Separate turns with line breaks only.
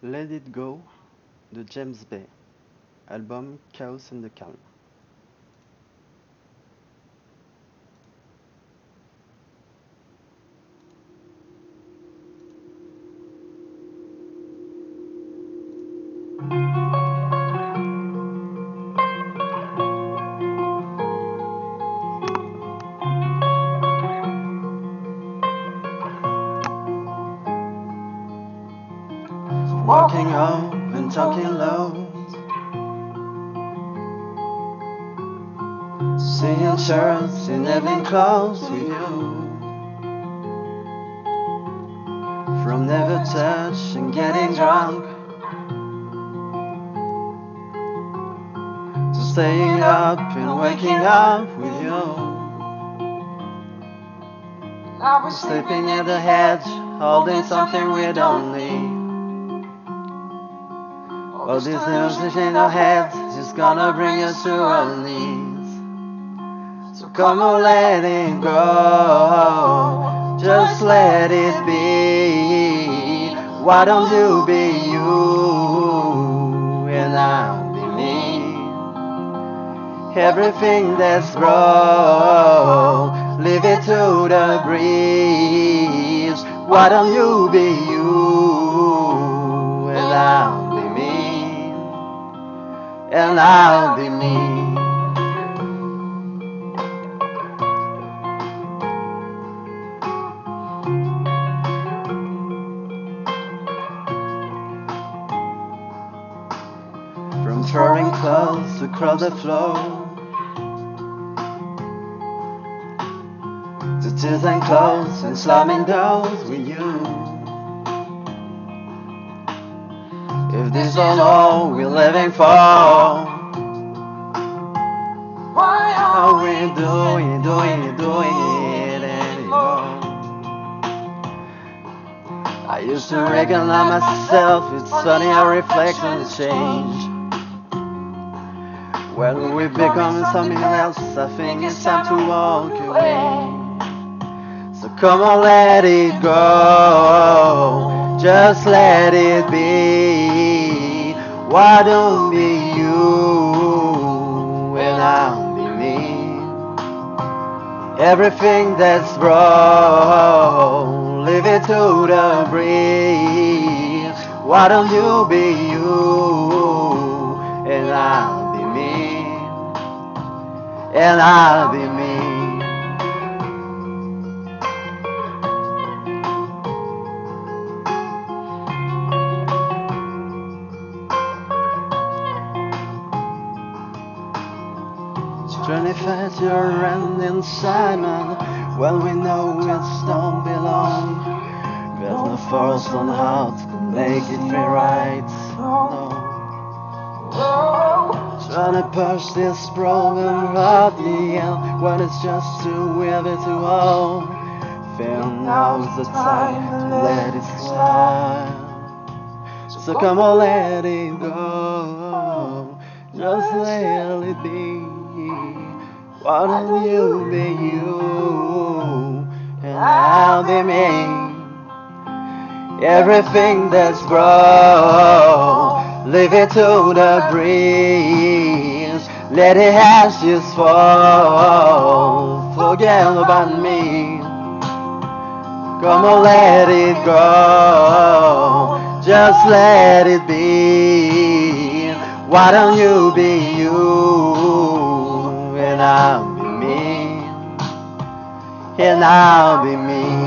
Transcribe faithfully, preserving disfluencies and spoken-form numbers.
Let It Go de James Bay, album Chaos and the Calm. Walking home and talking low, seeing shirts in evening clothes with you. From never touch and getting drunk to staying up and waking up with you. Now we're sleeping at the hedge, holding something we don't need. All this news in our heads is gonna bring us to our knees. So come on, let it go, just let it be. Why don't you be you and I'll be me? Everything that's wrong, leave it to the breeze. Why don't you be you and I'll be me? And I'll be me. From throwing clothes across the floor to tears and clothes and slamming doors with you. If this is all we're living for, why are we doing, doing, doing it anymore? I used to recognize myself, it's funny how reflections change. When we become something else, I think it's time to walk away. So come on, let it go, just let it be. Why don't be you and I'll be me? Everything that's wrong, leave it to the breeze. Why don't you be you and I'll be me? And I'll be me. twenty-five year and inside man, well we know it don't belong. There's no force on heart to make it feel right. No. Trying to push this problem out the end when it's just too heavy to hold. Feel now's the time to let it slide. So come on, let it go, just let it be. Why don't you be you and I'll be me? Everything that's wrong, leave it to the breeze. Let it ashes fall, forget about me. Come on, let it go, just let it be. Why don't you be you and I'll be me? And I'll be me.